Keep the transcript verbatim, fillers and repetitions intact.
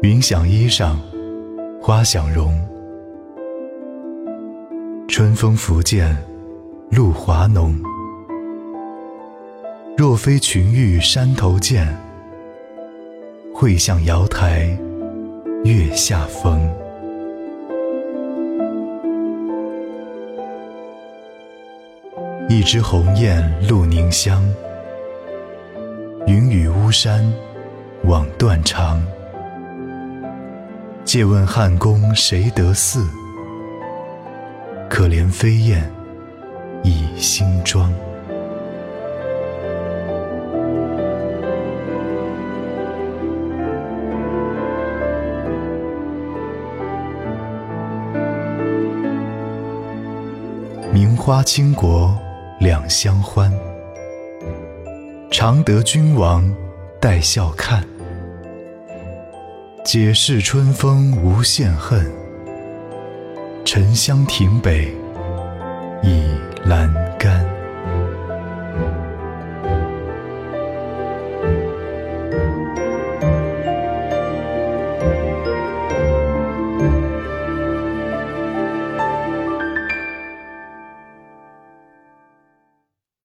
云想衣裳花想容，春风拂槛露华浓。若非群玉山头见，会向瑶台月下逢。一枝红艳露凝香，云雨巫山枉断肠。借问汉宫谁得似？可怜飞燕倚新妆。名花倾国两相欢，常得君王带笑看。解释春风无限恨，沉香亭北倚阑